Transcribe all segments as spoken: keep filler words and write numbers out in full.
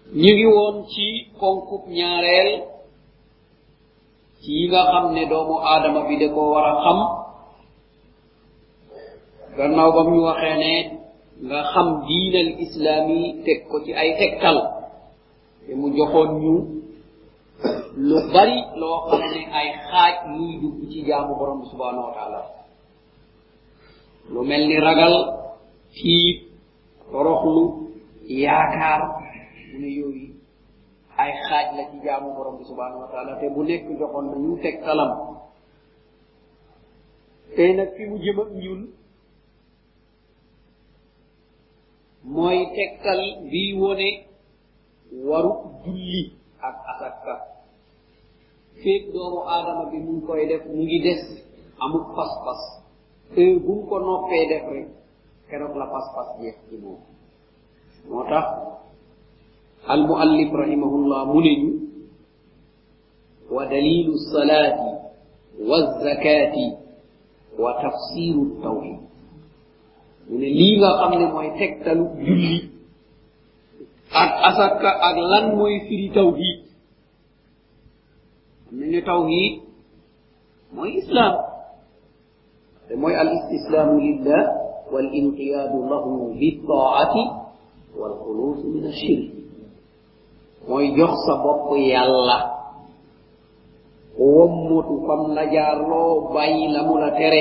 ñu ngi woon ci konkub ñaareel ci yi nga xam ne doomu aadama bi da koo war a xam gannaaw bam ñu waxee ne nga xam diinal islaami teg ko ci ay tegtal te mu joxoon ñu lu bari loo xam ne ay xaaj yuy dugg ci jaamu borom bi subhanahu wa taala lu mel ni ragal tiit toroxlu yaakaar mu ne yooyu ay xaaj la ci jaamu borom bi subhanahu wa taala te bu nekk joxoon na ñu tegtalam tey nag fi mu jëm ak ñun mooy tegtal bii wone waru julli ak asaka feeg doomu aadama bi mu ngi koy def mu ngi des amul pas-pas heure bu mu ko noppee def rek keroog la pas-pas jeex ci moom moo tax al muallif rahimahullah mu ne ñu wa dalilu salaati wa zakati wa tafsiru tawhid mu ne lii nga xam ne mooy tegtalu julli ak asaka ak lan mooy firi tawhid am nañu tawhid mooy islam te mooy al istislaamu lillah wal inqiyaadu lahu bittaati wal xuluus min ashirk mooy jox sa bopp yàlla wommutu fam la jaarloo bàyyi la mu la tere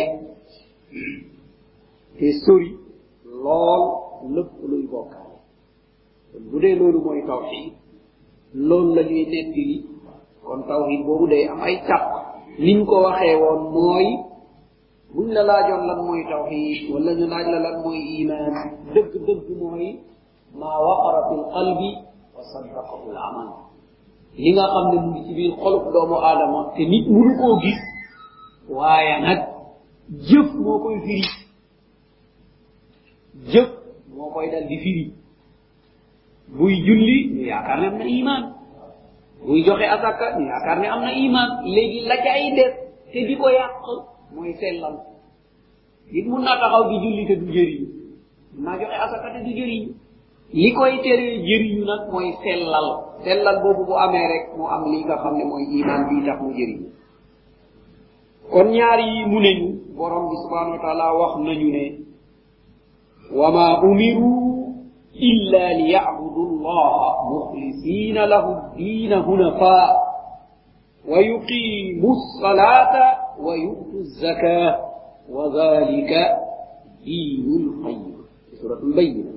te sori lool lépp luy bokkaale kon bu dee loolu mooy tawhid loolu la ñuy nettali kon tawhid boobu day am ay càpp niñ ko waxee woon mooy buñ la laajoon lan mooy tawhid wala ñu laaj la lan mooy iman dëgg dëgg mooy maa waqara fil qalbi wa saddaqahu al amal li nga xam ne mu ngi ci biir xolub doomu aadama te nit mënu koo gis waaye nag jëf moo koy firi jëf moo koy dal di firi buy julli ñu yaakaar ne am na iman buy joxe asaka ñu yaakaar ne am na iman léegi la ca ay des te di ko yàq mooy sellal nit mun naa taxaw di julli te du jëriñu mun naa joxe asaka te du jëriñu li koy teree jëriñu nag mooy sellal sellal boobu bu amee rek mu am li nga xam ne mooy iman bii tax mu jëriñu kon ñaar yi mu ne ñu borom bi subhanahu wa taala wax nañu ne wa ma umiru illa liya'budu allaha mukhlisina lahu ad-din hunafa wa yuqimu as-salata wa yu'tu az-zakata wa dhalika dinul qayyim suratul bayyina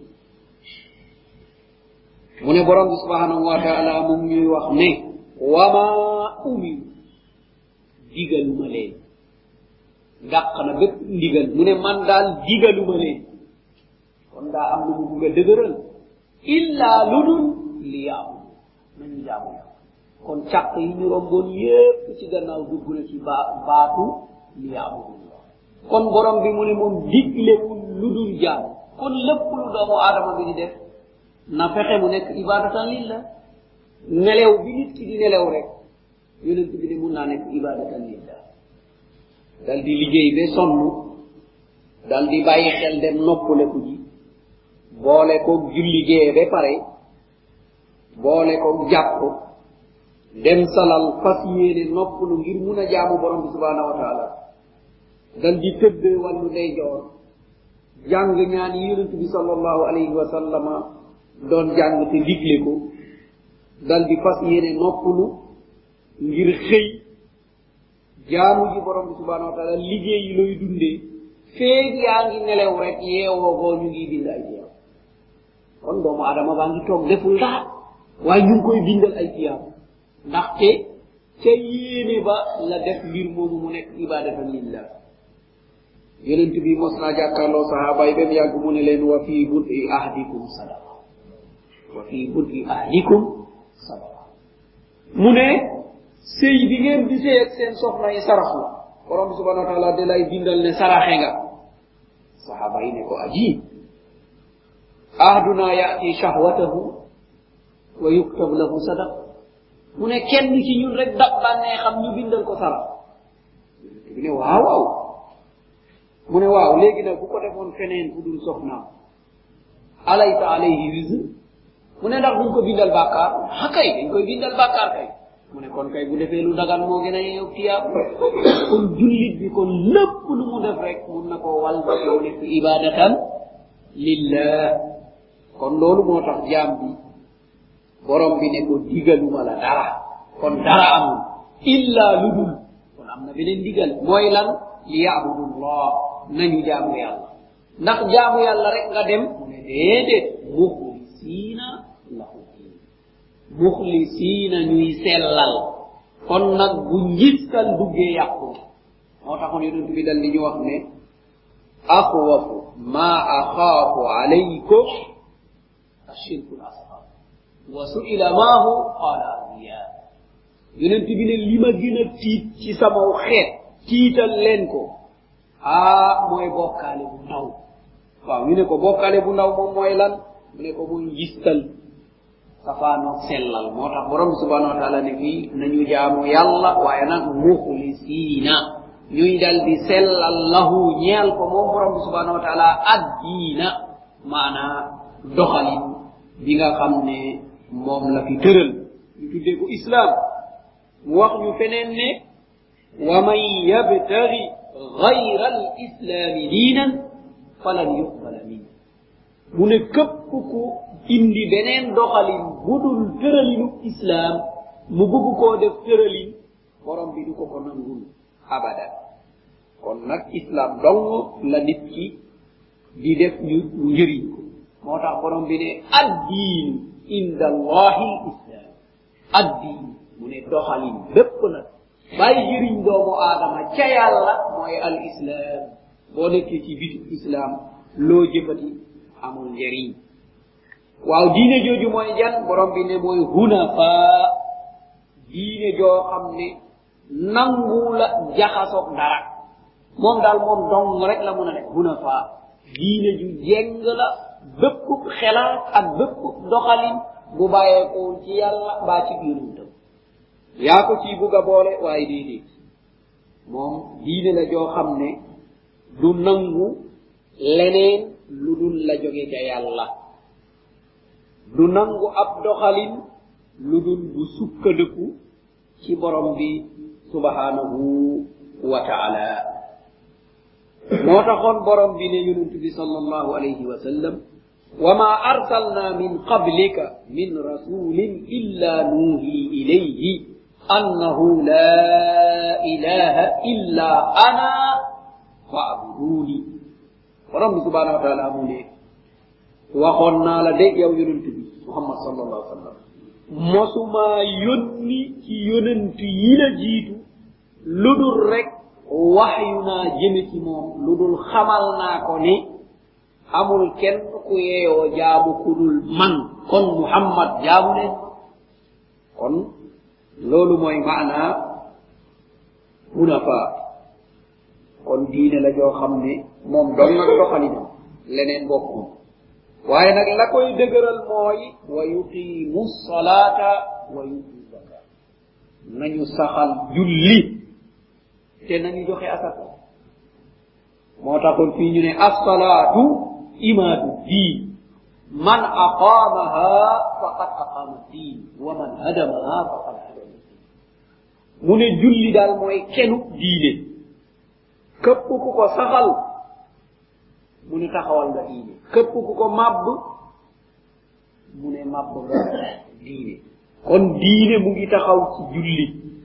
mu ne borom bi subhanahu wa ta'ala mu ñuy wax ne wa ma umiru digaluma leen dàq na bépp ndigal mu ne man daal digaluma leen kon daa am lu mu bugg a dëgëral illa lu dul li yaamu nañu jaamu yàlla kon càq yi ñu romboon yépp ci gannaaw dugg na ci ba baatu li yaamu kon borom bi mu ne moom diglewul lu dul jaamu kon lépp lu doomu aadama bi di def na fexe mu nekk ibadatan lillah nelew bi nit ki di nelew rek yonent bi ne mun naa nekk ibadatan lillah dal di liggéey ba sonn dal di bàyyi xel dem noppaleku ji boole ko julli gee ba pare boole ko jàpp dem salal fas yéene noppalu ngir mun a jaamu borom bi subhanahu wa taala dal di tëdd wàllu ndeyjoor jàng ñaan yi yonent bi sallallahu alayhi wa sallama doon jàng te digle ko dal di fas yéene noppalu ngir xëy jaamu ji borom bi subhanahu wa taala liggéey yi looy dundee feeg yaa ngi nelew rek yeewoo boo ñu ngi bind ay tiyaab kon doomu adama baa ngi toog deful dara waaye ñu ngi koy bindal ay tiyaab ndaxte ca yéene ba la def mbir moomu mu nekk ibadatan lillah yonent bi mos naa jàkkaarloo sahaaba yi ba mu yàgg mu ne leen wa fii bud'i ahdikum sadaqa wa fii bud'i ahdikum sadaqa mu ne sëy bi ngeen di sëy ak seen soxna yi sarax la borom bi subhanahu wa taala da lay bindal ne saraxe nga sahaaba yi ne ko ajib ahduna ya'ti shahwatahu wa yuktab lahu sadaqa mu ne kenn ci ñun rek dab bànnee xam ñu bindal ko sarax bi ne waaw waaw mu ne waaw léegi nag bu ko defoon feneen fu dul soxnaam alaysa alayhi wizr mu ne ndax duñ ko bindal bàkkaar ha kay dañ koy bindal bàkkaar kay mu ne kon kay bu defee lu dagan moo gën a yow tiyaab kon jullit bi kon lépp lu mu def rek mun na koo wal ba yow nekk ibadatan lillah kon loolu moo tax jaam bi borom bi ne ko digaluma la dara kon dara amul illa ludul kon am na beneen digal mooy lan li yaabudullah nañu jaamu yàlla ndax jaamu yàlla rek nga dem mu ne déedéet muxlisiina lahu diin muxlisiina ñuy sellal kon nag bu njiskal duggee yàqu moo taxoon yonent bi dal li ñu wax ne axwafu ma axaafu alaykum ashirku l asghar wa su'ila maahu qaala riya yonent bi ne li ma gën a tiit ci samaw xeet tiital leen ko ah mooy bokkaale bu ndaw waaw ñu ne ko bokkaale bu ndaw moom mooy lan mu ne ko muy ngistal safaanoog sellal moo tax borom subhanahu wa taala ne fii nañu jaamu yàlla waaye nag muxlisiina ñuy dal di sellal lahu ñeel ko moom borom subhanahu wa taala addiina maanaa doxalin bi nga xam ne moom la fi tëral ñu tuddee ko islam mu wax ñu feneen ne wa man yabtaghi ghayra al islami diinan falan yuqbala min mu ne képp ku indi beneen doxalin budul tëralinu islam mu bëgg koo def tëralin borom bi du ko ko nangul abadan kon nag islam dong la nit ki di def ñu njëriñ ko moo tax borom bi ne addiin inda allahi islam addiin mu ne doxalin bépp nag bàyyi jëriñ doomu aadama ca yàlla mooy al islam boo nekkee ci bitu islam loo jëfati amul njëriñ waaw diine jooju mooy jan borom bi ne mooy hunafa diine joo xam ne nangu la jaxasoog dara moom daal moom dong rek la mun a nekk hunafa diine ju jeng la bépp xelaat ak bépp doxalin bu bàyyeekoo ci yàlla mbaa ci yonentam yaa ko ciy bugg a boole waaye déedéet moom diine la joo xam ne du nangu leneen lu dul la jóge ca yàlla du nangu ab doxalin lu dul bu sukkandiku ci borom bi subhanahu wa ta'ala moo taxoon borom bi ne yonent bi sallallahu alayhi wa sallam wa ma arsalna min qablika min rasulin illa nuhi ilayhi annahu la ilaha illa ana fa'buduni borom bi subhanahu wa ta'ala mu ne waxoon naa la de yow yonent bi muhammad sallallahu alayhi wa sallam mosuma yónni ci yonent yi la jiitu lu dul rek waxyu naa jëme ci moom lu dul xamal naa ko ne amul kenn ku yeeyoo jaamu ku dul man kon muhammad jaamu leen kon loolu mooy maanaa hunafa kon diine la joo xam ne moom doon nag doxalinam leneen bokkul waaye nag la koy dëgëral mooy wa yuqimu salata wa yutu zakat nañu saxal julli te nañu joxe asaka moo taxoon fii ñu ne as-salaatu imaadu diin man aqaamaha faqad aqaama diin wa man hadamaha faqad hadama diin mu ne julli daal mooy kenu diine képp ku ko saxal mu ne taxawal nga diine képp ku ko màbb mu ne màbb nga diine kon diine mu ngi taxaw ci julli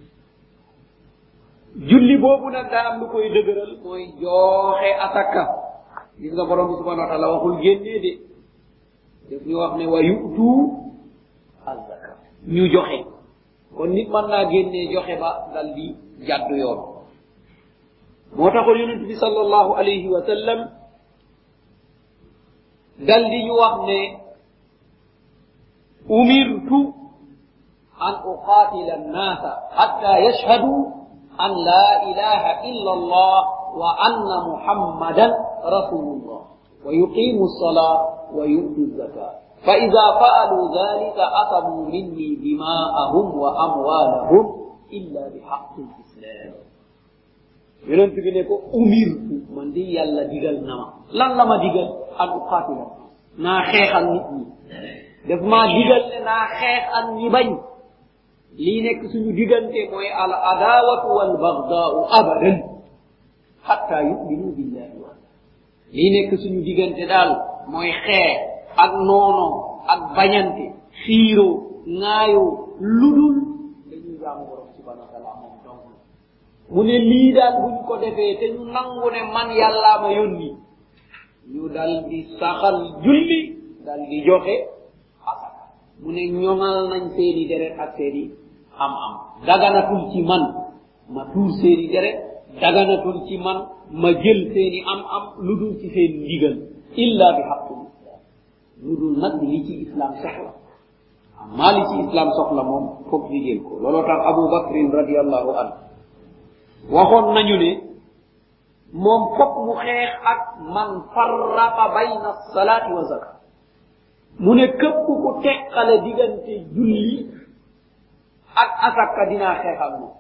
julli boobu nag daa am lu koy dëgëral mooy joxe asaka gis nga borom bi subhanahu wa ta'ala waxul génnee de def ñu wax ne wa yu'tu az-zaka ñu joxe kon nit mën naa génnee joxe ba dal di jàdd yoon moo taxoon yonent bi sallallahu alayhi wa sallam dal di ñu wax ne umirtu an uqatila an-nasa hatta yashhadu an la ilaha illa allah wa anna muhammadan rasulullah wa yuqimu as-salat wa yu'tu az-zakat fa idha fa'alu dhalika asamu minni dima'ahum wa amwalahum illa bihaqqi al-islam yonent bi ne ko umirtu man di yàlla digal na ma lan la ma digal an uqatila naa xeexal nit ñi daf maa digal ne naa xeex ak ñi bañ lii nekk suñu diggante mooy al adawatu wal bagdaau abadan hatta yuminu billahi wa lii nekk suñu diggante daal mooy xeex ak noono ak bañante xiiroo ŋaayoo ludul dañuy jaamu borom subhanahu wa taala moom donc mu ne lii daal buñ ko defee te ñu nangu ne man yàllaa ma yónni ñu dal di saxal julli dal di joxe asaka mu ne ñoŋal nañ seeni deret ak seeni am am daganatul ci man ma tuur seeni deret daganatul ci man ma jël seeni am am ludul ci seen ndigal illa bi haqqil islam ludul nag li ci islam soxla amma li ci islam soxla moom foog ñu jël ko looloo tax Abu Bakrin radiyallahu anhu waxoon nañu ne moom foog mu xeex ak man farraqa bayna salaati wa zakat mu ne képp ku teqale diggante julli ak asaka dinaa xeex ak moom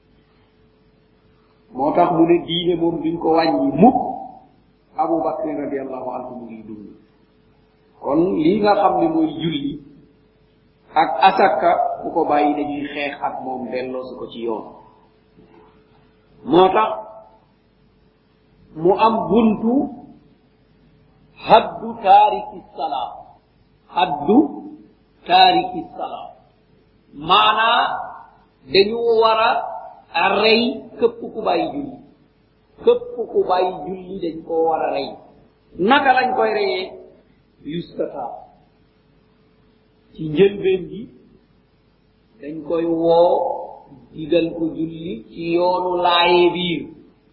moo tax mu ne diine moom duñ ko wàññi mukk Abu Bakrin radiyallahu anhu mu ngi dund kon lii nga xam ne mooy julli ak asaka bu ko bàyyi dañuy xeex ak moom delloo su ko ci yoon moo tax mu am buntu haddu taariki salaa haddu taariki salaa maanaa dañu war a rey képp ku bàyyi julli képp ku bàyyi julli dañ koo war a rey naka lañ koy reyee yustata ci njëlbeen gi dañ koy woo digal ko julli ci yoonu laaye biir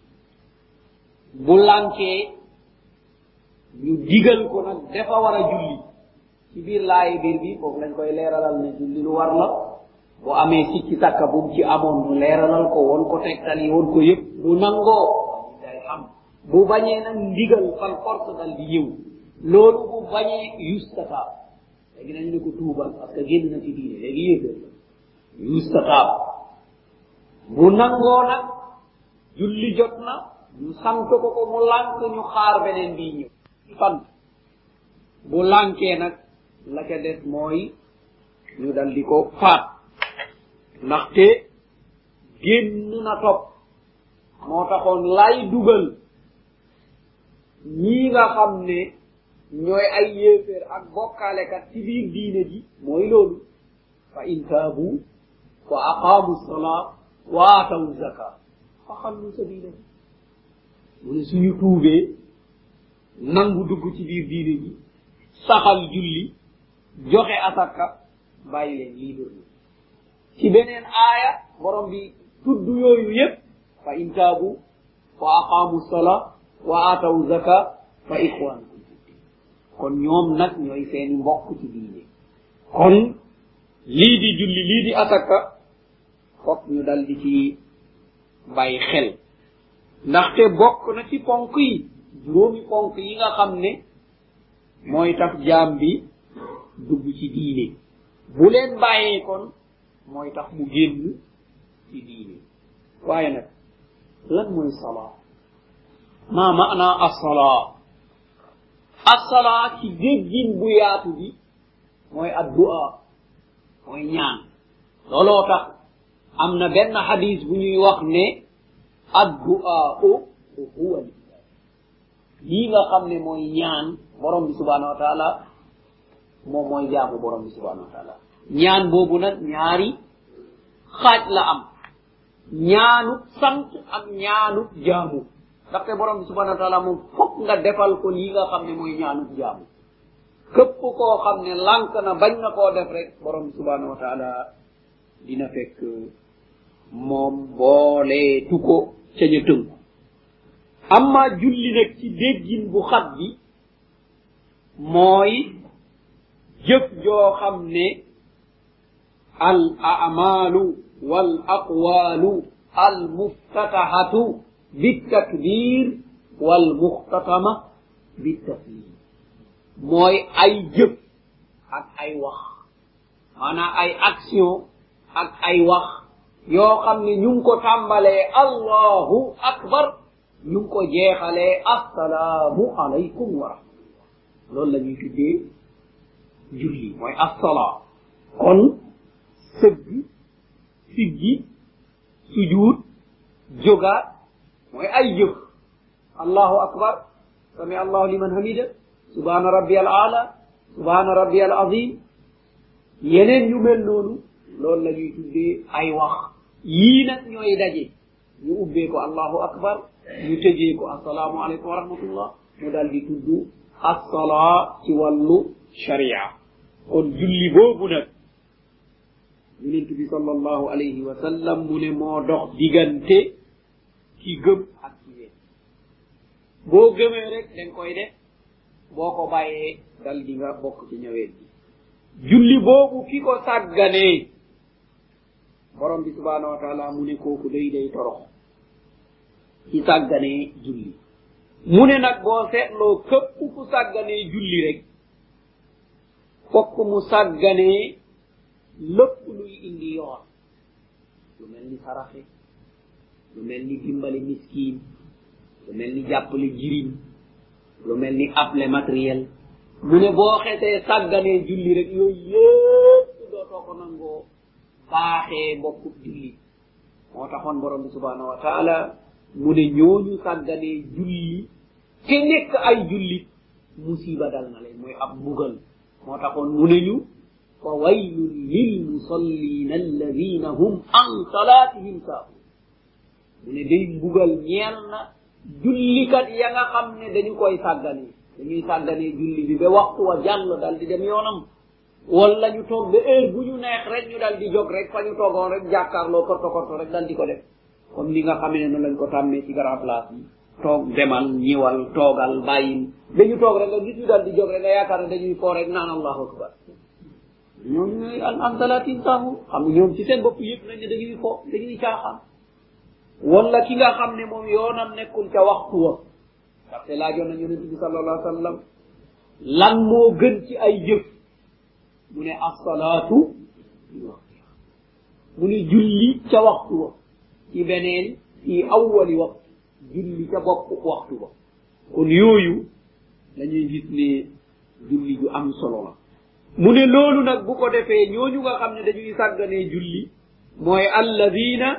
bu lànkee ñu digal ko nag dafa war a julli ci biir laaye biir bi foofu lañ koy leeralal ne julli lu war la bu amee sikki takka bu ci amoon ñu leeralal ko woon ko tegtal yi woon ko yëpp bu nangoo day xam bu bañee nag ndigal fal force dal di ñëw loolu bu bañee yustata léegi nañ ne ko tuubal parce que génn na ci diine léegi yéegal yustata bu nangoo nag julli jot na ñu sant ko ko mu lànk ñu xaar beneen bii ñëw sant bu lànkee nag la ca des mooy ñu dal di ko faat ndaxte génn na topp moo taxoon lay dugal ñii nga xam ne ñooy ay yéeféer ak bokkaalekat ci biir diine ji mooy loolu fa in taabu wa aqaamu salaa wa aataw zaka fa xallu sabila mu ne suñu tuubee nangu dugg ci biir diine ji saxal julli joxe asaka bàyyi leen libre na ci beneen aaya borom bi tudd yooyu yépp fa in taabu wa aqaamu salaa wa aataw zaka fa ixwaanukum kon ñoom nag ñooy seeni mbokk ci diine kon lii di julli lii di asaka fokk ñu dal di ci bàyyi xel ndaxte bokk na ci ponk yi juróomi ponk yi nga xam ne mooy tax jaam bi dugg ci diine bu leen bàyyee kon mooy tax mu génn ci diine waaye nag lan mooy salaa ma maana as-salaa as-salaa ci déggin bu yaatu bi mooy addu'a mooy ñaan looloo tax am na benn xadis bu ñuy wax ne addu'a huwa lii nga xam ne mooy ñaan borom bi subhanahu wa taala moom mooy jaamu borom bi subhanahu wa taala ñaan boobu nag ñaari xaaj la am ñaanu sant ak ñaanu jaamu ndaxte borom bi subhanahu wa taala moom fokk nga defal ko lii nga xam ne mooy ñaanu jaamu képp koo xam ne lànk na bañ na koo def rek borom bi subhanahu wa taala dina fekk moom booleetu ko ca ña tënku amma julli nag ci déggin bu xat bi mooy jëf joo xam ne al a'malu wal aqwalu al muftatahatu bitakbir wal muxtatama bitaslim mooy ay jëf ak ay wax maanaam ay action ak ay wax yoo xam ne ñu ngi ko tàmbalee allahu akbar ñu ngi ko jeexalee assalaamu alaykum wa rahmatullah loolu la ñuy tuddee julli mooy as-salaa kon sëgg siggi sujuud jógaat mooy ay jëf allahu akbar sami allahu liman hamida subhana rabbiyal aala subhana rabbiyal azim yeneen yu mel noonu loolu la ñuy tuddee ay wax yii nag ñooy daje ñu ubbee ko allahu akbar ñu tëjee ko assalaamu aleykum wa rahmatullah mu daal di tudd as-salaa ci wàllu sharia kon julli boobu nag yonent bi sallallahu alayhi wa sallam mu ne moo dox diggante ki gëm ak ki wéet boo gëmee rek dañ koy def boo ko bàyyee dal di nga bokk ci ñëweet bi julli boobu ki ko sàgganee borom bi subhanahu wa taala mu ne kooku day day torox ci sàgganee julli mu ne nag boo seetloo képp ku sàgganee julli rek fokk mu sàgganee lépp luy indi yoon lu mel ni saraxe lu mel ni dimbali miskiin lu mel ni jàppale jirim lu mel ni appelé matériel mu ne boo xetee sàgganee julli rek yooyu yépp dootoo ko nangoo baaxee bokkub julli moo taxoon borom bi subhanahu wa taala mu ne ñooñu sàgganee julli te nekk ay jullit musiba dal na leen mooy ab mbugal moo taxoon mu ne ñu fa waylun lil musallina alladina hum an salatihim saahun mu ne day mbugal ñeel na jullikat ya nga xam ne dañu koy sàgganee dañuy sàgganee julli bi ba waxtu wa jàll dal di dem yoonam wala ñu toog ba heure bu ñu neex rek ñu dal di jóg rek fa ñu toogoon rek jàkkaarloo korto korto rek dal di ko def comme ni nga xamee ne noonu lañ ko tàmmee ci grand place yi toog demal ñiwal toogal bàyyil dañu toog rek nga gis ñu dal di jóg rek nga yaakaar ne dañuy foo rek naan allahu akbar ñoom ñooy an an salatin saahu xam nga ñoom ci seen bopp yëpp nañ ne dañuy fo dañuy caaxaan wala ki nga xam ne moom yoonam nekkul ca waxtu wa ndaxte laajoon nañ yonente bi sallallahu alayhi wa sallam lan moo gën ci ay jëf mu ne as-salaatu fi waqtiha mu ne julli ca waxtu wa ci beneen fi awwali waqt julli ca bopp waxtu wa kon yooyu dañuy gis ne julli ju am solo la mu ne loolu nag bu ko defee ñooñu nga xam ne dañuy sàgganee julli mooy alladina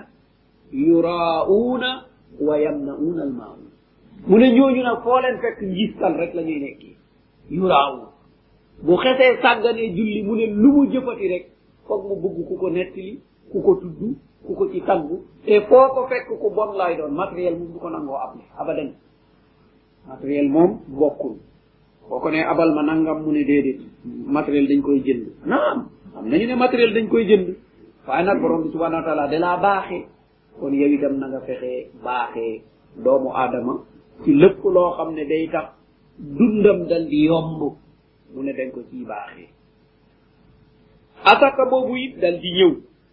yuraa'uuna wa yamna'uuna al-maa'uun mu ne ñooñu nag foo leen fekk ngistal rek la ñuy nekkee yuraa'uun bu xesee sàgganee julli mu ne lu mu jëfati rek foog mu bëgg ku ko nettali ku ko tudd ku ko ci taggu te foo ko fekk ku bon lay doon matériel moom du ko nangoo ab abadan matériel moom bokkul boo ko ne abal ma nangam mu ne déedéet matériel dañ koy jënd naam am nañu ne matériel dañ koy jënd waaye nag borom bi subhanahu wa taala da laa baaxee kon yow itam na nga fexee baaxee doomu aadama ci lépp loo xam ne day tax dundam dal di yomb mu ne dañ ko ciy baaxee asaka boobu it dal di ñëw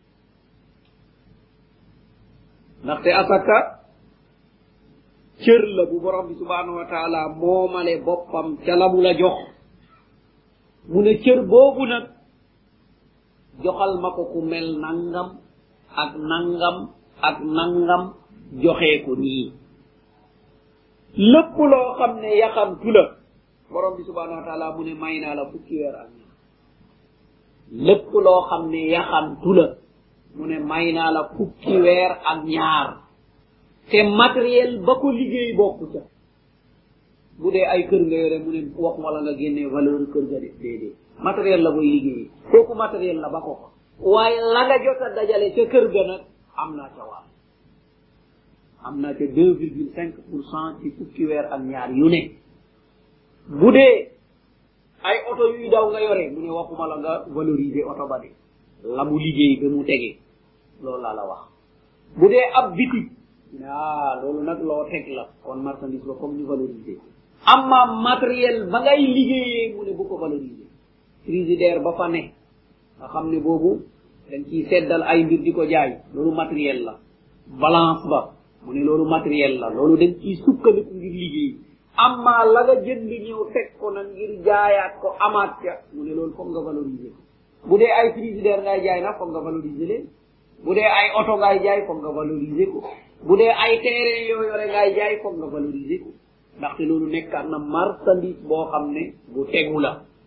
ndaxte asaka cër la bu borom bi subhanahu wa taala moomale boppam ca la mu la jox mu ne cër boobu nag joxal ma ko ku mel nangam ak nangam ak nangam joxee ko nii lépp loo xam ne yaxantu la borom bi subhanahu wa taala mu ne may naa la fukki weer ak ñaar lépp loo xam ne yaxantu la mu ne may naa la fukki weer ak ñaar te matériel ba ko liggéey bokku ca bu dee ay kër nga yore mu ne wax wala nga génnee valeur kër ga de déedéet matériel la koy liggéey kooku matériel la ba ko ko waaye la nga jot a dajale ca kër ga nag am naa ca wàll am naa ca deux virgule cinq pour cent ci fukki weer ak ñaar yu ne bu dee ay oto yuy daw nga yore mu ne waxuma la nga valoriser oto ba de la mu liggéey ba mu tege loolu laa la wax bu dee ab bitig ah loolu nag loo teg la kon marchandise ba comme ñu valoriser amma matériel ba ngay liggéeyee mu ne bu ko valoriser frigidaire ba fa ne nga xam ne boobu dañ ciy seddal ay mbir di ko jaay loolu matériel la balance ba mu ne loolu matériel la loolu dañ ciy sukkandiku ngir liggéey amma la nga jënd ñëw teg ko nag ngir jaayaat ko amaat ca mu ne loolu foog nga valoriser ko bu dee ay frigidaire ngay jaay nag foog nga valoriser leen bu dee ay oto ngay jaay foog nga valoriser ko bu dee ay terrain yoo yore ngay jaay foog nga valoriser ko ndaxte loolu nekkaat na marchandise boo xam ne bu tegu la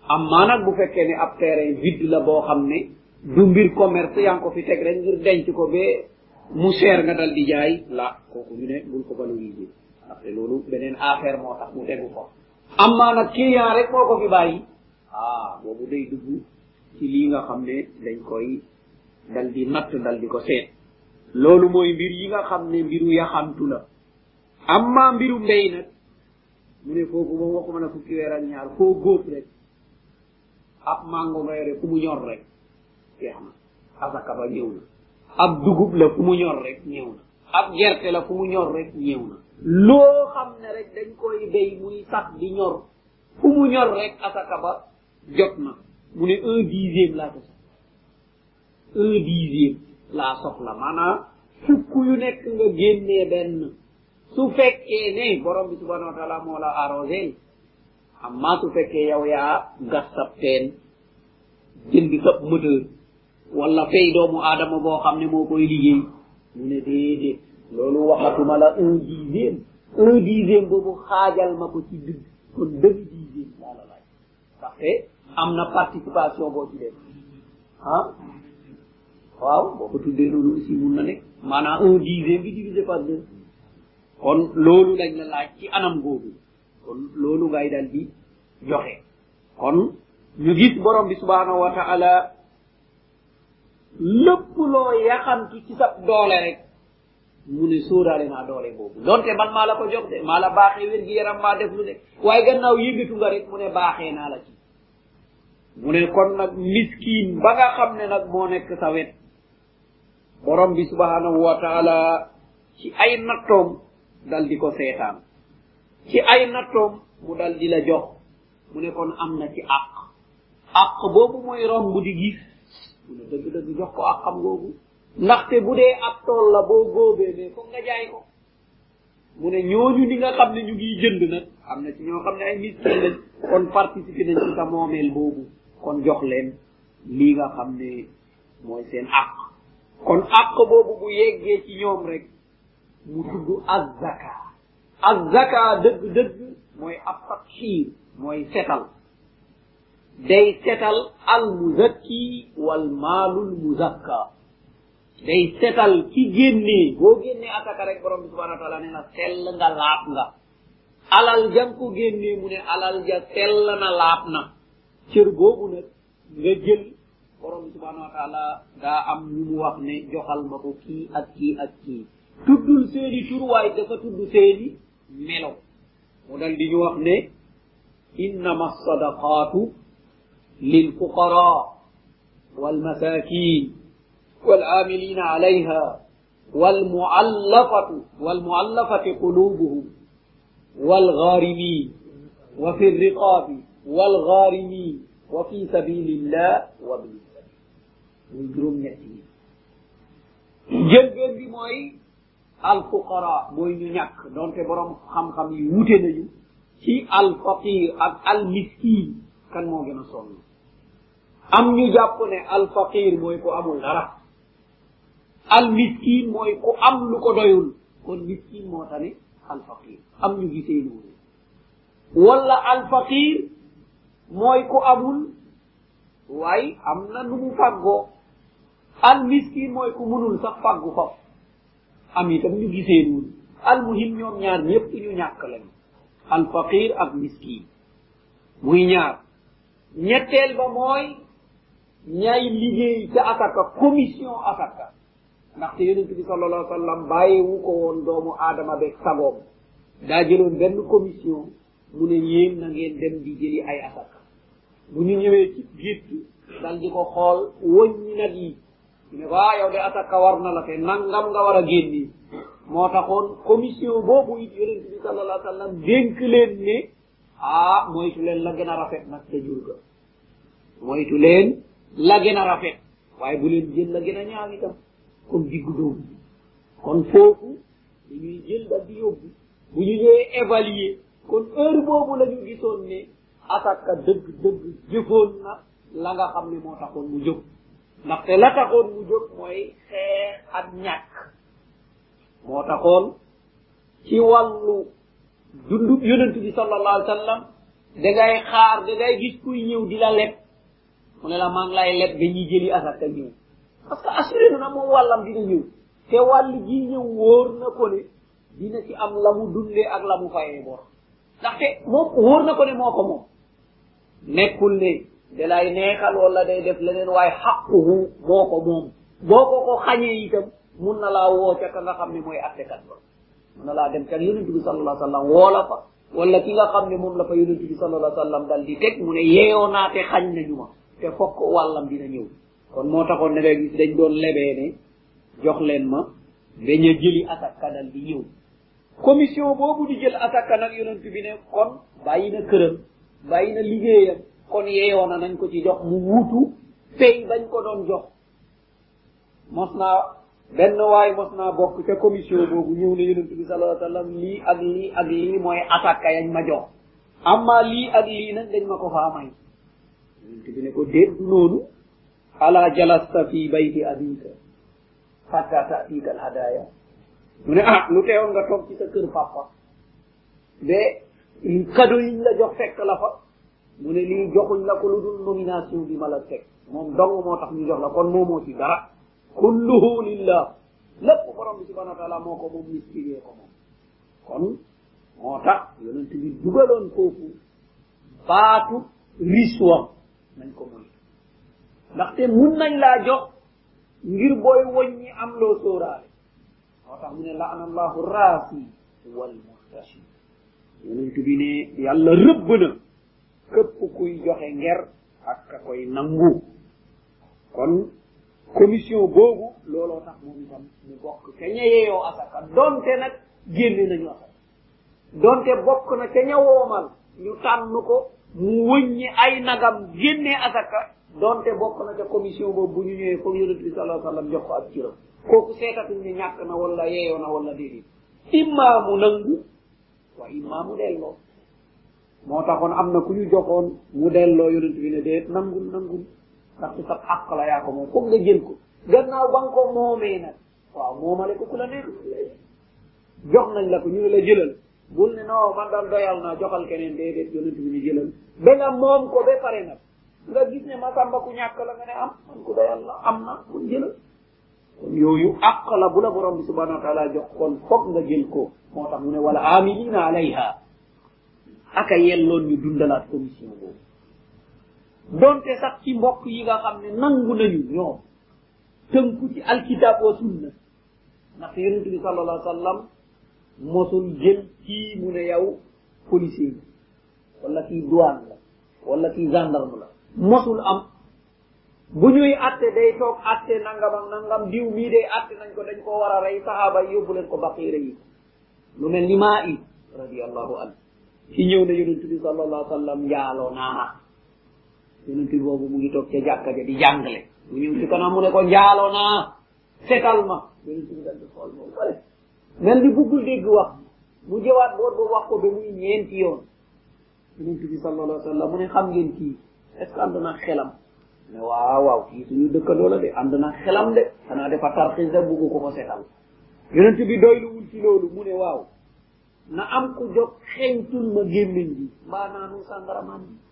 amma nag bu fekkee ne ab terrain vide la boo xam ne du mbir commerce yaa ngi ko fi teg rek ngir denc ko ba mu cher nga dal di jaay la kooku ñu ne bul ko valoriser ndaxte loolu beneen affaire moo tax mu tegu ko amma nag client rek moo ko fi bàyyi ah boobu day dugg ci lii nga xam ne dañ koy dal di natt dal di ko seet loolu mooy mbir yi nga xam ne mbiru yaxantu la amma mbiru mbéy nag mu ne foofu moom waxuma na fukki weer ak ñaar foo góob rek ab mango nga yore fu mu ñor rek jeex na asaka ba ñëw na ab dugub la fu mu ñor rek ñëw na ab gerte la fu mu ñor rek ñëw na loo xam ne rek dañ koy béy muy sax di ñor fu mu ñor rek asaka ba jot na mu ne un dixième laa ko soxla un dixième laa soxla maanaam fukk yu nekk nga génnee benn su fekkee ne borom bi subhanahu wa taala moo la arrosé amma su fekkee yow yaa gas sab teen jëndi sab moteur wala fay doomu aadama boo xam ne moo koy liggéey mu ne déedéet loolu waxatuma la un dixième un dixième boobu xaajal ma ko ci digg kon demi dixième laa la laaj ndaxte am na participation boo ci def ah waaw boo ko tuddee loolu aussi mun na nekk maanaam un dixième bi divisé par deux kon loolu lañ la laaj ci anam googu kon loolu ngay dal di joxe kon ñu gis borom bi subhanahu wa ta'ala lépp loo yaxantu ci sa doole rek mu ne sóoraale naa doole boobu donte man maa la ko jox de maa la baaxee wér gi yaram maa def lu de waaye gannaaw yëngatu nga rek mu ne baaxee naa la ci mu ne kon nag miskin ba nga xam ne nag moo nekk sa wet borom bi subhanahu wa ta'ala ci ay nattoom dal di ko seetaan ci ay nattoom mu dal di la jox mu ne kon am na ci àq àq boobu mooy romb di gis mu ne dëgg dëgg jox ko àqam googu ndaxte bu dee ab tool la boo góobee ne foog nga jaay ko mu ne ñooñu li nga xam ne ñu ngi jënd nag am na ci ñoo xam ne ay miskin lañ kon participer nañ ci sa moomeel boobu kon jox leen lii nga xam ne mooy seen àq kon àq boobu bu yeggee ci ñoom rek mu tudd azzaka azzaka dëgg dëgg mooy ab tathiir mooy setal day setal al muzakki wal maalul muzakka day setal ki génnee boo génnee asaka rek borom bi subhanahu wa taala nee na sell nga laab nga alal jang ko génnee mu ne alal ja sell na laab na cër boobu nag nga jël borom bi subhanahu wa taala daa am ñu mu wax ne joxal ma ko kii ak kii ak kii tuddul seeni tur waaye dafa tudd seeni melo mu dal di ñu wax ne innama sadaqatu lil fuqara wal masakin wal amilina alayha wal muallafatu wal muallafati qulubuhum wal gharimin wa fi riqabi wal gharimin wa fi sabilillah wa bil sabil muy juróom ñett yi jëlbeen bi mooy al fuqara mooy ñu ñàkk donte borom xam-xam yi wute nañu ci al faqir ak al miskin kan moo gën a sonn am ñu jàpp ne al faqir mooy ko amul dara al miskin mooy ku am lu ko doyul kon miskin moo tane al faqir am ñu gisee loolu wala al faqir mooy ku amul waaye am na nu mu fàggoo al miskin mooy ku munul sax fàggu faf am itam ñu gisee noonu al muhim ñoom ñaar ñëpp ñu ñàkk lañu al faqir ak miskin muy ñaar ñetteel ba mooy ñay liggéey ca asaka commission asaka ndaxte yonent bi sallallahu alayhi wa sallam bàyyiwu ko woon doomu aadama beeg sagoom daa jëloon benn commission mu ne yéen na ngeen dem di jëli ay asaka bu ñu ñëwee ci gétt dal di ko xool wëññi nag yi ñu ne waa yow de asaka war na la te nangam nga war a génni moo taxoon commission boobu it yonent bi sallallahu alayhi wa sallam dénk leen ne ah moytu leen la gën a rafet nag te jur ga moytu leen la gën a rafet waaye bu leen jël la gën a ñaaw itam comme diggu doomu kon foofu dañuy jël dal di yóbbu bu ñu ñëwee évaluer kon heure boobu la ñu gisoon ne asaka dëgg dëgg jëfoon na la nga xam ne moo taxoon mu jóg ndaxte la taxoon mu jóg mooy xeex ak ñàkk moo taxoon ci wàllu dundu yonent bi sallallahu alayhi wa sallam da ngay xaar da ngay gis kuy ñëw di la leb mu ne la maa ngi lay leb dañuy jëli asaka ñëw parce que assuré na moom wàllam dina ñëw te wàll ji ñëw wóor na ko ne dina ci am la mu dundee ak la mu fayee bor ndaxte moom wóor na ko ne moo ko moom nekkul ne da lay neexal wala day def leneen waaye xaquhu moo ko moom boo ko ko xañee itam mun na laa woo ca ka nga xam ne mooy attekat ba mun na laa dem ca yonent bi sallallahu alayhi wa sallam woo la fa wala ki nga xam ne moom la fa yonent bi sallallahu alayhi wa sallam dal di teg mu ne yeeyoo naa te xañ nañu ma te fokk wàllam dina ñëw kon moo taxoon ne nga gis dañ doon lebee ne jox leen ma dañ a jëli asaka dal di ñëw commission boobu di jël asaka nag yonent bi ne kon bàyyi na këram bàyyi na liggéeyam kon yeeyoo na nañ ko ci jox mu wuutu pay bañ ko doon jox mos naa benn waay mos naa bokk ca commission boobu ñëw ne yonent bi sallallahu alayhi wa sallam lii ak lii ak lii mooy asaka yañ ma jox amma lii ak lii nag dañ ma ko faa may yonent bi ne ko déet du noonu ala jalasta fi bayti abika hatta ta'tika alhadaya mu ne ah lu teewoon nga toog ci sa kër papa de cadeau yiñ la jox fekk la fa mu ne lii joxuñ la ko lu dul nomination bi ma la teg moom dong moo tax ñu jox la kon moomoo ci dara kulluhu lillah lépp borom bi subhanahu wa taala moo ko moom mistigee ko moom kon moo tax yonent bi dugaloon foofu baatu riswa nañ ko moy ndaxte mun nañ laa jox ngir booy woññi am loo sóoraale moo tax mu ne laana allahu raasi wal muhtashi yonent bi ne yàlla rëbb na képp kuy joxe nger ak ka koy nangu kon commission boobu looloo tax moom itam mu bokk ca ña yeeyoo asaka donte nag génne nañu asaka donte bokk na ca ña woomal ñu tànn ko mu wëññi ay nagam génnee asaka donte bokk na ca commission boobu bu ñu ñëwee foog yonent bi sallallahu alayhi wa sallam jox ko ak ciram kooku seetatuñ ne ñàkk na wala yeeyoo na wala déedéet immaa mu nangu wa immaa mu delloo moo taxoon am na ku ñu joxoon mu delloo yonent bi ne déet nangul nangul ndax ci sa àq la yaa ko moom foog nga jël ko gannaaw ba nga ko moomee nag waaw moomale ko ku la neex jox nañ la ko ñu ne la jëlal bul ne non man daal doyal naa joxal keneen déedéet yonent bi ne jëlal ba nga moom ko ba pare nag nga gis ne ma samba ku ñàkk la nga ne am man ku doyal la am na mun jëlal kon yooyu àq la bu la borom bi subhanahu wa taala jox kon foog nga jël ko moo tax mu ne wala amilina alayha aka yelloon ñu dundalaat commission boobu donte sax ci mbokk yi nga xam ne nangu nañu ñoom tënku ci alkitab wa sunna ndax yonent bi sallallahu alayhi wa sallam mosul jël kii mu ne yow policier bi wala kii douane la wala kii gendarme la mosul am bu ñuy atte day toog atte nangam ak nangam diw mii day atte nañ ko dañ ko war a rey sahaaba yi yóbbu leen ko baqiira yi lu mel ni maa i radiallahu anhu ci ñëw na yonent bi sallallahu alayhi wa sallam njaaloo naa yonent bi boobu mu ngi toog ca jàkka ja di jàngale mu ñëw ci kanam mu ne ko njaaloo naa setal ma yonent bi dal di xool moom pare mel ni buggul dégg wax mu jëwaat boor ba wax ko ba muy ñeenti yoon yonent bi sallallahu alayhi wa sallam mu ne xam ngeen kii est ce que ànd naa xelam ne waaw waaw kii suñu dëkkandoo la de ànd naa xelam de xanaa dafa tarxis de buggu ko ko setal yonent bi doyluwul ci loolu mu ne waaw na am ku jóg xeeñtul ma gémmiñ bi mbaa naanu sàngaramaan bi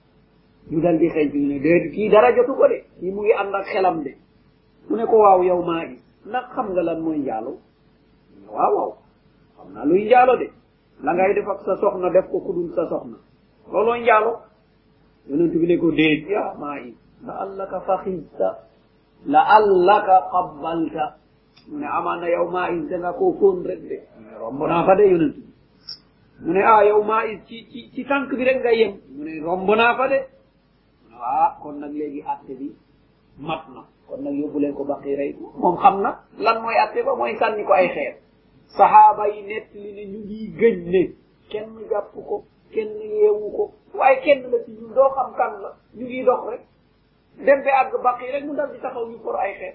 ñu dal di xeeñtul ne déet kii dara jotu ko de kii mu ngi ànd ak xelam de mu ne ko waaw yow maa ngi ndax xam nga lan mooy njaalo mu ne waaw waaw xam naa luy njaalo de la ngay def ak sa soxna def ko ku dul sa soxna loolooy njaalo yonent bi ne ko déet yaa maa ngi la allaka faxista la allaka qabbalta mu ne amaana yow maa is danga koo fóon rek de romb naa fa de yonent bi mu ne ah yow maa is ci ci ci tànk bi rek nga yem mu ne romb naa fa de mu ne ah kon nag léegi atte bi mat na kon nag yóbbu leen ko baqi rey moom xam na lan mooy atte ba mooy sànni ko ay xeer sahaaba yi nett li ne ñu ngi gëñ ne kenn jàpp ko kenn yeewu ko waaye kenn la ci ñun doo xam kan la ñu ngi dox rek dem ba àgg baqi rek mu dal di taxaw ñu for ay xeer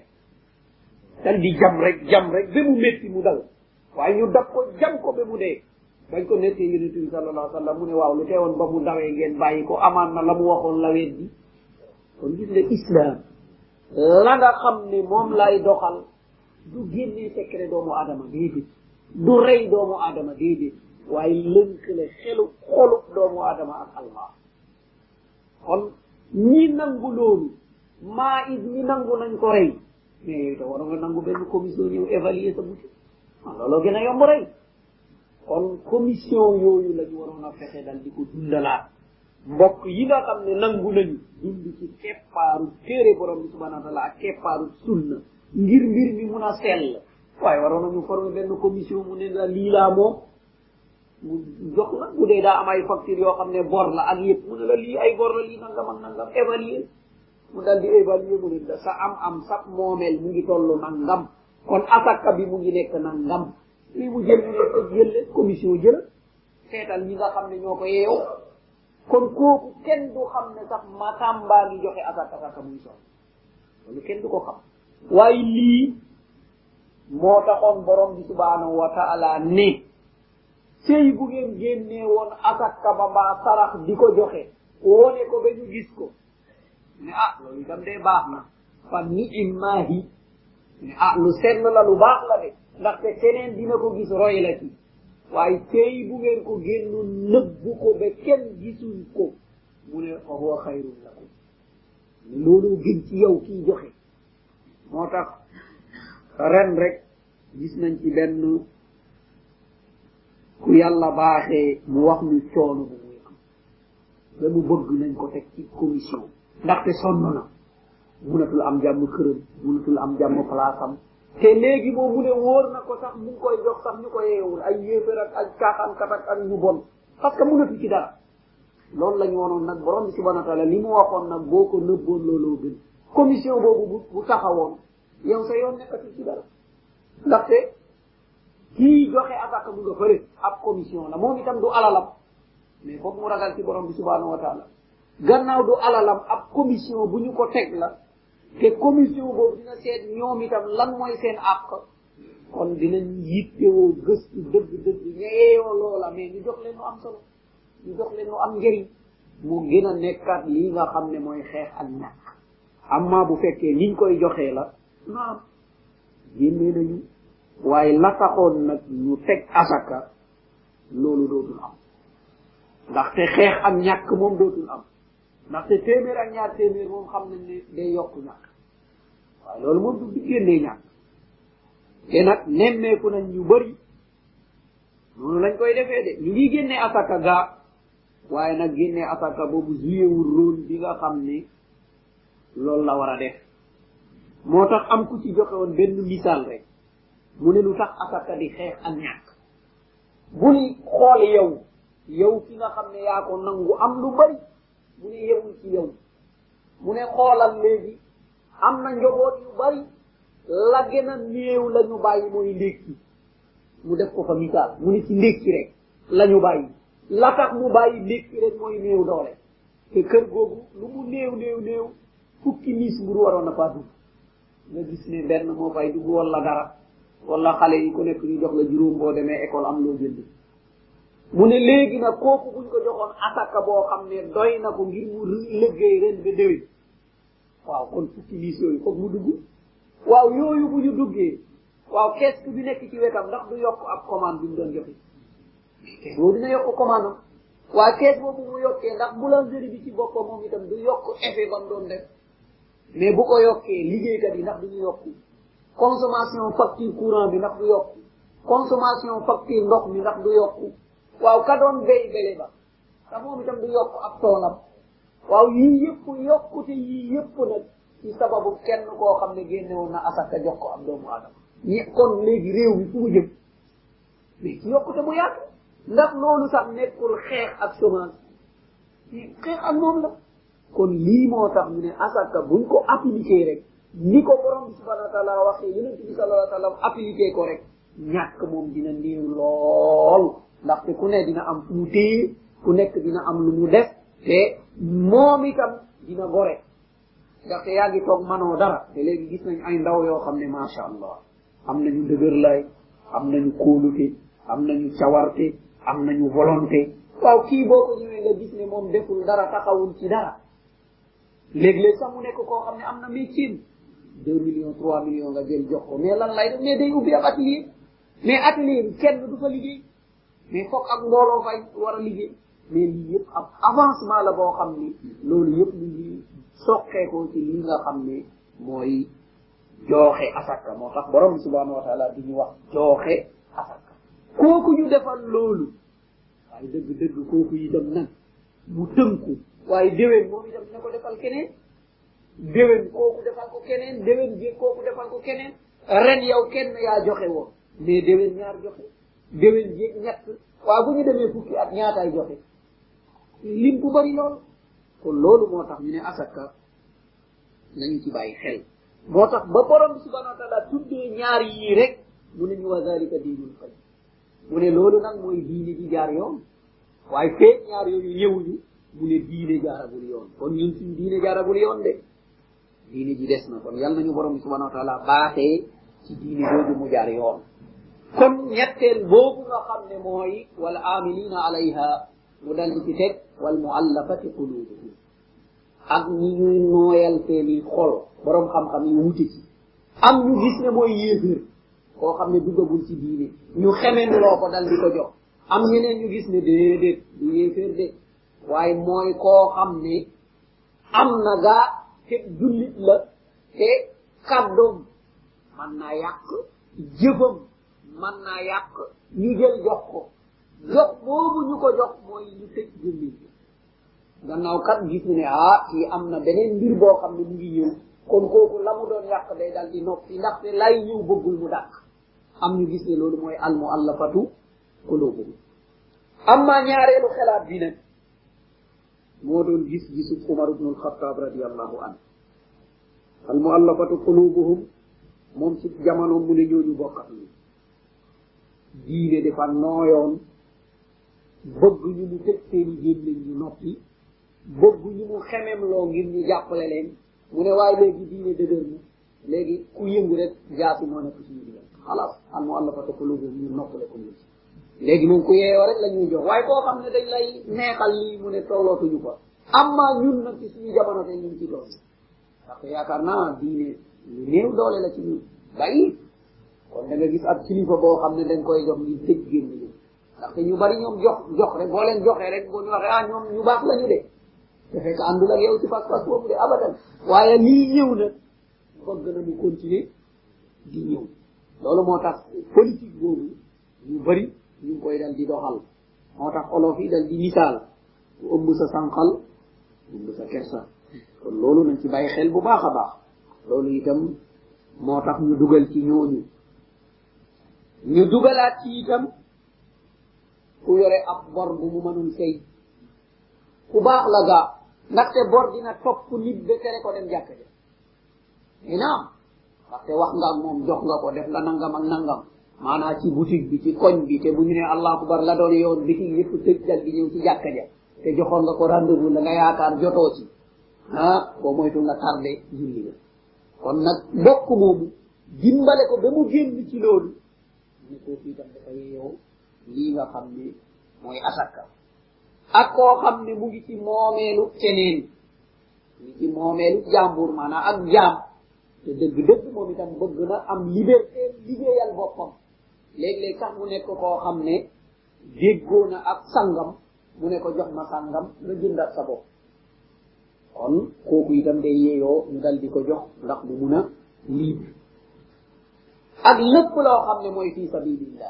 dal di jam rek jam rek ba mu métti mu dal waaye ñu dab ko jam ko ba mu dee bañ ko nettee yonent bi sallallahu alayhi wa sallam mu ne waaw lu teewoon ba mu dawee ngeen bàyyi ko amaan na la mu waxoon la weet bi kon gis nga islam la nga xam ne moom lay doxal du génnee secret doomu aadama déedéet du rey doomu aadama déedéet waaye lënkale xelu xolub doomu aadama ak allah kon ñi nangu loolu maa is mi nangu nañ ko rey mais yooyu te waroon nga nangu benn commission ñëw évaluer sa buti ah looloo gën a yomb rey kon commission yooyu la ñu waroon a fexe dal di ko dundalaat mbokk yi nga xam ne nangu nañu dund ci keppaaru téere borom bi subhanahu wa taala ak keppaaru sunna ngir mbir mi mun a sell waaye waroon nañu former benn commission mu ne la lii laa moom mu jox la bu dee daa am ay facture yoo xam ne bor la ak yëpp mu ne la lii ay bor la lii nangam ak nangam évaluer mu dal di évaluer mu ne sa am am sa moomeel mu ngi toll nangam kon asaka bi mu ngi nekk nangam lii mu jël mu ne jël commission jël seetal ñi nga xam ne ñoo ko yeew kon kooku kenn du xam ne sax matamba ngi joxe asaka asaka muy sol loolu kenn du ko xam waaye lii moo taxoon borom bi subhanahu wa taala ne sey bu ngeen génnee woon asaka ba mbaa sarax di ko joxe wone ko ba ñu gis ko ne ah loolu itam dee baax na fa ni immaahi ne ah lu senn la lu baax la de ndaxte keneen dina ko gis roy la ci waaye sey bu ngeen ko génnu nëbbu ko ba kenn gisuñ ko mu ne fa huwa xayrun lakum loolu gën ci yow kii joxe moo tax ren rek gis nañ ci benn ku yàlla baaxee mu wax ñu coono bu muy am ba mu bëgg nañ ko teg ci commission ndaxte sonn na munatul am jàmm këram munatul am jàmm palaasam te léegi moom mu ne wóor na ko sax mu ngi koy jox sax ñu ko yeewul ay yéefar ak ak caaxaankat ak ak ñu bon parce que munatu ci dara loolu la ñu wonoon nag borom bi subhanahu wa taala li mu waxoon nag boo ko nëbboon looloo gën commission boobu bu bu taxawoon yow sa yoon nekkatu ci dara ndaxte kii joxe asaka bu nga fële ab commission la moom itam du alalam mais foog mu ragal ci borom bi subhanahu wa taala gannaaw du alalam ab commission bu ñu ko teg la te commission boobu dina seet ñoom itam lan mooy seen àq kon dinañ yittewoo gëstu dëgg dëgg ñeeyoo loola mais ñu jox leen lu am solo ñu jox leen lu am njëriñ mu gën a nekkat lii nga xam ne mooy xeex ak ñàkk amma bu fekkee niñ koy joxee la naam génnee nañu waaye la taxoon nag ñu teg asaka loolu dootul am ndaxte xeex ak ñàkk moom dootul am ndaxte téeméer ak ñaar téeméer moom xam nañ ne day yokku ñàkk waaye loolu moom du génnee ñàkk te nag nemmeeku nañ ñu bëri noonu lañ koy defee de ñu ngi génnee asaka gaa waaye nag génnee asaka boobu jouéwul rôle bi nga xam ne loolu la war a def moo tax am ku ci joxe woon benn misaal rek mu ne lu tax asaka di xeex ak ñàkk bul xool yow yow ki nga xam ne yaa ko nangu am lu bari mu ne yewul ci yow mu ne xoolal léegi am na njaboot yu bari la gën a néew la ñu bàyyi mooy ndékki mu def ko fa misaal mu ne ci ndékki rek la ñu bàyyi la tax mu bàyyi ndékki rek mooy néew doole te kër googu lu mu néew néew néew fukki miis mburu waroon na faa dugg nga gis ne benn moo fay dugg wala dara wala xale yi ku nekk ñu jox la juróom boo demee école am loo jënd mu ne léegi nag kooku buñ ko joxoon asaka boo xam ne doy na ko ngir mu liggéey ren ba déwén waaw kon fukki miis yooyu foog mu dugg waaw yooyu bu ñu duggee waaw kees bi nekk ci wetam ndax du yokk ab commande bi mu doon joxe kees boobu dina yokk commande am waaye kees boobu mu yokkee ndax boulangerie bi ci boppam moom itam du yokk effet ba mu doon def mais bu ko yokkee liggéeykat yi ndax du ñu yokk consommation facture courant bi ndax du yokk consommation facture ndox mi ndax du yokk waaw ka doon béy bele ba te moom itam du yokk ab toolam waaw yii yëpp yokkute yii yëpp nag ci sababu kenn koo xam ne génne woon na asaka jox ko ab doomu aadama ñi kon léegi réew mi fu mu jëm mais ci yokkute bu yàgg ndax loolu sax nekkul xeex ak chômage xeex ak moom la kon lii moo tax ñu ne asaka buñ ko appliqué rek ni ko borom bi subhanahu wa taala waxee yonent bi sallallahu alayhi wa sallam appliqué ko rek ñàkk moom dina néew lool ndaxte ku ne dina am fu mu téye ku nekk dina am lu mu def te moom itam dina gore ndaxte yaa ngi toog manoo dara te léegi gis nañ ay ndaw yoo xam ne macha allah am nañu dëgër lay am nañu kóolute am nañu cawarte am nañu volonté waaw kii boo ko ñëwee nga gis ne moom deful dara taxawul ci dara léeg-léeg sax mu nekk koo xam ne am na métier deux millions trois millions nga jël jox ko mais lan lay def mais day ubbi ab atelier mais atelier bi kenn du fa liggéey mais foog ak mbooloo fay war a liggéey mais lii yëpp ab avancement la boo xam ni loolu yëpp ñu ngi soqeekoo ci li nga xam ne mooy jooxe asaka moo tax borom subhanahu wa taala di ñu wax jooxe asaka kooku ñu defal loolu waaye dëgg dëgg kooku itam nag mu tënku waaye déwén moom itam na ko defal keneen déwén kooku defal ko keneen déwén jéeg kooku defal ko keneen ren yow kenn yaa joxe woon mais déwén ñaar joxe déwén jéeg ñett waaw bu ñu demee fukki at ñaataay joxe lim bu bari lool kon loolu moo tax ñu ne asaka nañu ci bàyyi xel moo tax ba borom subhanahu wa taala tuddee ñaar yii rek mu ne ñu wa zalika diinul qayyim mu ne loolu nag mooy diine ji jaar yoon waaye feeg ñaar yooyu ñëwuñu mu ne diine jaaragul yoon kon ñun suñu diine jaaragul yoon de diine ji des na kon yal nañu borom subhanahu wa taala baaxee ci diine jooju mu jaar yoon kon ñetteel boobu nga xam ne mooy wal amilina alayha mu dal di ci teg wal muallafati qulubuhum ak ñi ñuy nooyal seeni xol borom xam-xam yi wuute ci am ñu gis ne mooy yéeféer koo xam ne duggagul ci diine ñu xemen loo ko dal di ko jox am ñeneen ñu gis ne déedéet du yéeféer de waaye mooy koo xam ne am na gaa te jullit la te kàddoom man naa yàq jëfam man naa yàq ñu jël jox ko jox boobu ñu ko jox mooy ñu tëj jullit bi gannaaw kat gis ne ah kii am na beneen mbir boo xam ne mu ngi ñëw kon kooku la mu doon yàq day dal di noppi ndaxte lay ñëw bëggul mu dàq am ñu gis ne loolu mooy al muallafatu qulubuhum amma ñaareelu xelaat bi nag moo doon gis gisu Umar ibn al-Khattab radiyallahu anhu al muallafatu qulubuhum moom ci jamono mu ne ñooñu bokkat ni diine dafa nooyoon bëgg ñu mu tëj seeni gémmiñ ñu noppi bëgg ñu mu xemem loo ngir ñu jàppale leen mu ne waaye léegi diine dëgër na léegi ku yëngu rek jaasi moo nekk suñu digal xalaas al muallafatu qulubuhum ñu noppale ko ñu léegi moom ku yeeyoo rek la ñuy jox waaye koo xam ne dañ lay neexal lii mu ne tollootuñu ko amma ñun nag ci suñu jamono te ñu ngi ci doon parce que yaakaar naa diine lu néew doole la ci ñun bàyyi kon da nga gis ab kilifa boo xam ne dañ koy jox ngir tëj génn ñu ndaxte ñu bari ñoom jox jox rek boo leen joxee rek boo ñu waxee ah ñoom ñu baax lañu de te fekk àndul ak yow ci pas-pas boobu de abadan waaye lii ñëw nag bëgg na mu continuer di ñëw loolu moo tax politique boobu ñu bari ñu ngi koy dal di doxal moo tax olof yi dal di misaal ku ëmb sa sànqal ëmb sa kersa kon loolu nañ ci bàyyi xel bu baax a baax loolu itam moo tax ñu dugal ci ñooñu ñu dugalaat ci itam ku yore ab bor bu mu mënul fay ku baax la gaa ndaxte bor dina topp nit ba tere ko dem jàkk ja inaam ndaxte wax nga ak moom jox nga ko def nga nangam ak nangam maanaa ci boutique bi ci koñ bi te bu ñu ne allahu akbar la doon yoon bitig yëpp tëj dal di ñëw ci jàkka ja te joxoon nga ko rendez-vous la nga yaakaar jotoo ci ah boo moytu nga tardé julli nga kon nag mbokk moomu dimbale ko ba mu génn ci loolu ne koo fii tam dafa yeeyoo lii nga xam ne mooy asaka ak koo xam ne mu ngi ci moomeelu keneen mu ngi ci moomeelu jàmbur maanaa ak jaam te dëgg-dëgg moom itam bëgg na am liberté liggéeyal boppam léeg-léeg sax mu nekk koo xam ne déggoo na ak sangam mu ne ko jox ma sangam nga jëndat sa bopp kon kooku itam day yeeyoo ñu dal di ko jox ndax mu mun a libre ak lépp loo xam ne mooy fii sabilillah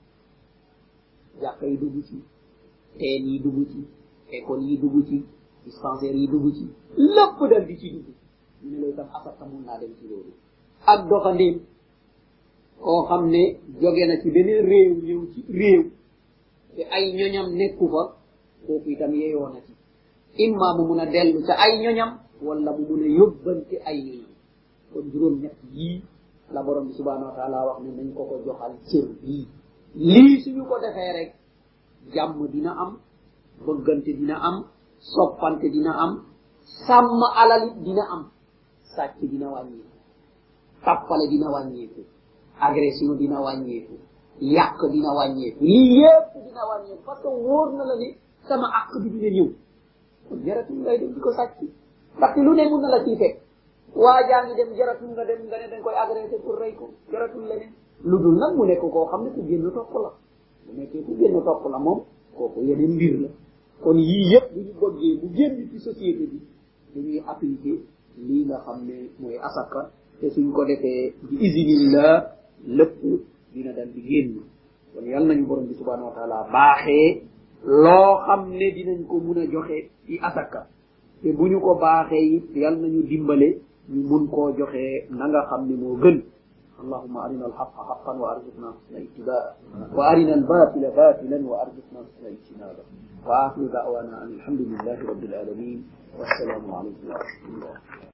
jàkka yi dugg ci teen yi dugg ci école yi dugg ci dispensaire yi dugg ci lépp dal di ci dugg ñu ne loolu tam asaka mun naa dem ci loolu ak doxandéem koo xam ne jóge na ci beneen réew ñëw ci réew te ay ñoñam nekku fa kooku itam yeeyoo na ci imma mu mun a dellu ca ay ñoñam wala mu mun a yóbbante ay ñoñam kon juróom ñett yii la borom bi subhanahu wa taala wax ne nañ ko ko joxal cër bii lii suñu ko defee rek jàmm dina am bëggante dina am soppante dina am sàmm alalit dina am sàcc dina wàññeeku tappale dina wàññeeku agression dina wàññeeku yàq dina wàññeeku lii yépp dina wàññeeku parce que wóor na la ne sama àq bi dina ñëw kon jaratul ngay dem di ko sàcc ndaxte lu ne mun na la ciy fekk waa jaa ngi dem jaratul nga dem nga ne dañ koy agressé pour rey ko jaratul leneen lu dul nag mu nekk koo xam ne ku génn topp la bu nekkee ku génn topp la moom kooku yeneen mbir la kon yii yëpp bu ñu bëggee bu génn ci société bi dañuy appliquer lii nga xam ne mooy asaka te suñ ko defee bi isinillah lépp dina dal di génn kon yàlla nañu borom bi subhanahu wa taala baaxee loo xam ne dinañ ko mun a joxe ci asaka te bu ñu ko baaxee it yàlla nañu dimbale ñu mun koo joxe na nga xam ne moo gën اللهم أرنا الحق حقا وأرزقنا حسن اتباعه وأرنا الباطل باطلا وأرزقنا حسن اجتنابه وآخر دعوانا أن الحمد لله رب العالمين والسلام عليكم ورحمة الله